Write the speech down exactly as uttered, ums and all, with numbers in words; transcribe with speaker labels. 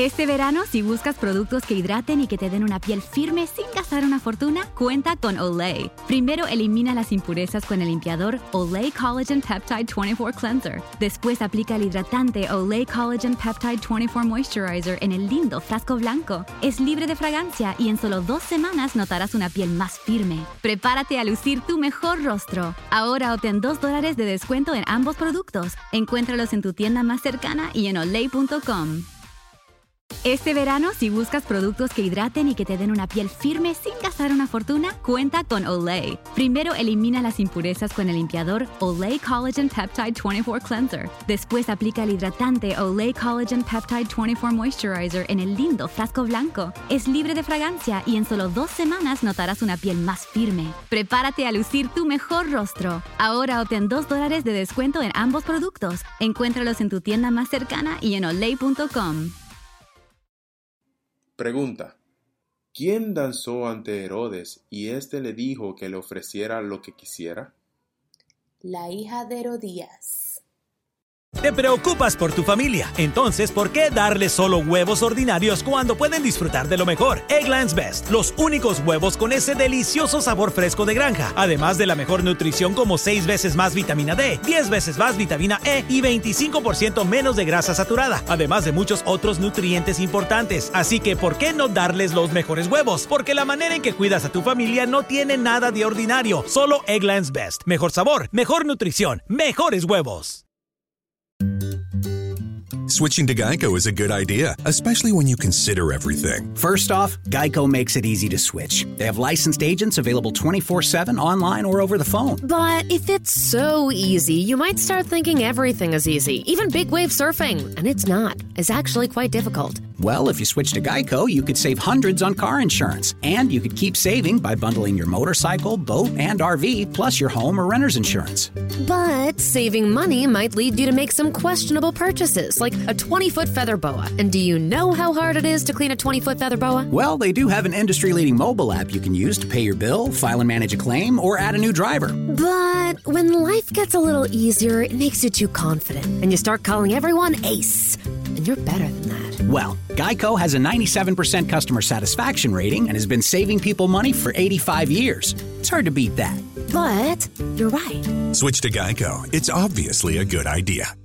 Speaker 1: Este verano, si buscas productos que hidraten y que te den una piel firme sin gastar una fortuna, cuenta con Olay. Primero elimina las impurezas con el limpiador Olay Collagen Peptide veinticuatro Cleanser. Después aplica el hidratante Olay Collagen Peptide veinticuatro Moisturizer en el lindo frasco blanco. Es libre de fragancia y en solo dos semanas notarás una piel más firme. Prepárate a lucir tu mejor rostro. Ahora obtén dos dólares de descuento en ambos productos. Encuéntralos en tu tienda más cercana y en olay punto com. Este verano, si buscas productos que hidraten y que te den una piel firme sin gastar una fortuna, cuenta con Olay. Primero elimina las impurezas con el limpiador Olay Collagen Peptide veinticuatro Cleanser. Después aplica el hidratante Olay Collagen Peptide veinticuatro Moisturizer en el lindo frasco blanco. Es libre de fragancia y en solo dos semanas notarás una piel más firme. Prepárate a lucir tu mejor rostro. Ahora obtén dos dólares de descuento en ambos productos. Encuéntralos en tu tienda más cercana y en olay punto com.
Speaker 2: Pregunta: ¿quién danzó ante Herodes y éste le dijo que le ofreciera lo que quisiera?
Speaker 3: La hija de Herodías.
Speaker 4: Te preocupas por tu familia, entonces ¿por qué darles solo huevos ordinarios cuando pueden disfrutar de lo mejor? Eggland's Best, los únicos huevos con ese delicioso sabor fresco de granja, además de la mejor nutrición como seis veces más vitamina D, diez veces más vitamina E y veinticinco por ciento menos de grasa saturada, además de muchos otros nutrientes importantes. Así que ¿por qué no darles los mejores huevos? Porque la manera en que cuidas a tu familia no tiene nada de ordinario, solo Eggland's Best. Mejor sabor, mejor nutrición, mejores huevos.
Speaker 5: Switching to Geico is a good idea, especially when you consider everything.
Speaker 6: First off, Geico makes it easy to switch. They have licensed agents available twenty-four seven online or over the phone.
Speaker 7: But if it's so easy, you might start thinking everything is easy, even big wave surfing. And it's not. It's actually quite difficult.
Speaker 6: Well, if you switch to Geico, you could save hundreds on car insurance. And you could keep saving by bundling your motorcycle, boat, and R V, plus your home or renter's insurance.
Speaker 7: But saving money might lead you to make some questionable purchases, like a twenty-foot feather boa. And do you know how hard it is to clean a twenty-foot feather boa?
Speaker 6: Well, they do have an industry-leading mobile app you can use to pay your bill, file and manage a claim, or add a new driver.
Speaker 7: But when life gets a little easier, it makes you too confident, and you start calling everyone Ace. And you're better than that.
Speaker 6: Well, Geico has a ninety-seven percent customer satisfaction rating and has been saving people money for eighty-five years. It's hard to beat that.
Speaker 7: But you're right.
Speaker 5: Switch to Geico. It's obviously a good idea.